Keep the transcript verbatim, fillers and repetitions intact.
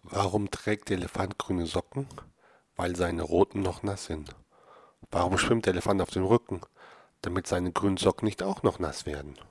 Warum trägt der Elefant grüne Socken? Weil seine roten noch nass sind. Warum schwimmt der Elefant auf dem Rücken? Damit seine grünen Socken nicht auch noch nass werden.